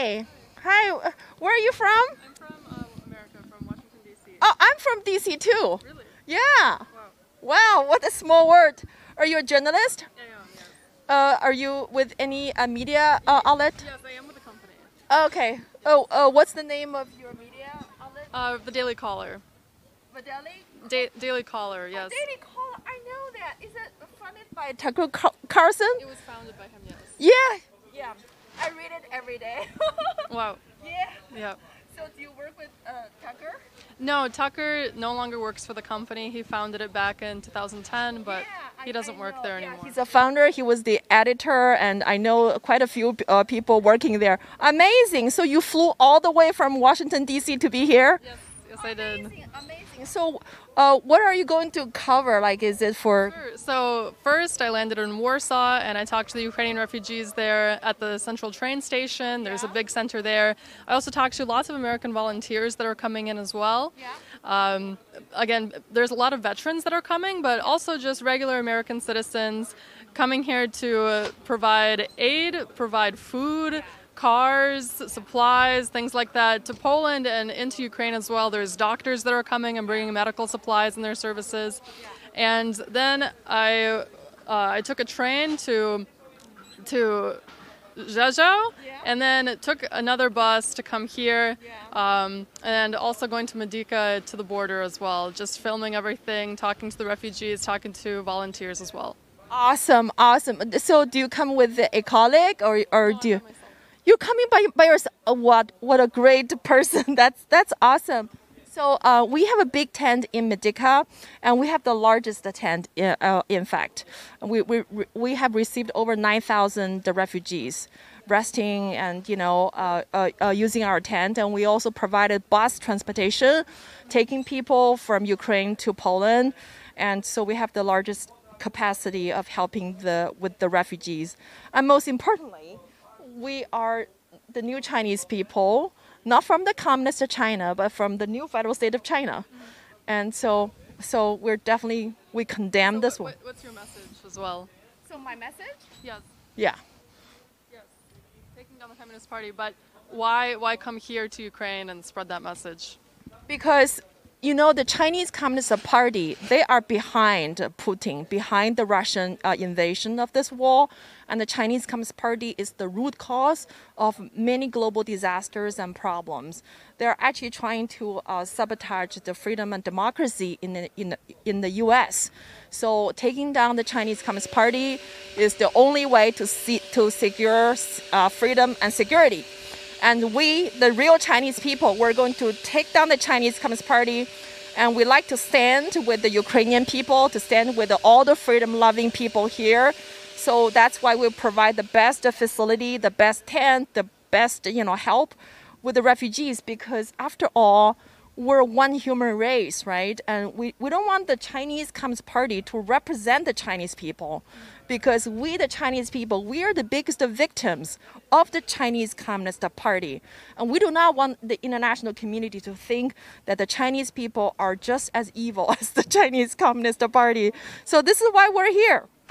Hi. Hi. Where are you from? I'm from America, from Washington, D.C. Oh, I'm from DC too. Really? Yeah. Wow. Wow, what a small world. Are you a journalist? I am, yes. Are you with any media outlet? Yes, I am with the company. Okay. What's the name of your media outlet? The Daily Caller. Videli? Daily Caller, yes. Daily Caller. I know that. Is it funded by Tucker Carlson? It was founded by him, yes. Yeah. Yeah. I read it every day. Wow. Yeah. Yeah. So do you work with Tucker? No, Tucker no longer works for the company. He founded it back in 2010, but he doesn't work there anymore. He's a founder. He was the editor, and I know quite a few people working there. Amazing. So you flew all the way from Washington, D.C. to be here? Yes, I did. Amazing. So what are you going to cover? Like, is it for... Sure. So first I landed in Warsaw and I talked to the Ukrainian refugees there at the central train station. There's a big center there. I also talked to lots of American volunteers that are coming in as well. Again, there's a lot of veterans that are coming, but also just regular American citizens coming here to provide aid, provide food, cars, supplies, things like that to Poland and into Ukraine as well. There's doctors that are coming and bringing medical supplies and their services. And then I took a train to Rzeszów, and then took another bus to come here, and also going to Medyka to the border as well, just filming everything, talking to the refugees, talking to volunteers as well. Awesome, awesome. So do you come with a colleague or do you... You're coming by yourself. What a great person. That's awesome. So we have a big tent in Medyka, and we have the largest tent. In fact, we have received over 9,000 refugees resting and using our tent, and we also provided bus transportation, taking people from Ukraine to Poland, and so we have the largest capacity of helping with the refugees, and most importantly, we are the new Chinese people, not from the communist China, but from the new federal state of China. And so we condemn this one. What's your message as well? So my message? Yes. Yeah. Yes. Taking down the Communist Party, but why come here to Ukraine and spread that message? Because the Chinese Communist Party, they are behind Putin, behind the Russian invasion of this war. And the Chinese Communist Party is the root cause of many global disasters and problems. They're actually trying to sabotage the freedom and democracy in the U.S. So taking down the Chinese Communist Party is the only way to secure freedom and security. And we, the real Chinese people, we're going to take down the Chinese Communist Party, and we like to stand with the Ukrainian people, to stand with all the freedom-loving people here. So that's why we provide the best facility, the best tent, the best help with the refugees, because after all, we're one human race, right? And we don't want the Chinese Communist Party to represent the Chinese people, because we, the Chinese people, we are the biggest victims of the Chinese Communist Party. And we do not want the international community to think that the Chinese people are just as evil as the Chinese Communist Party. So this is why we're here.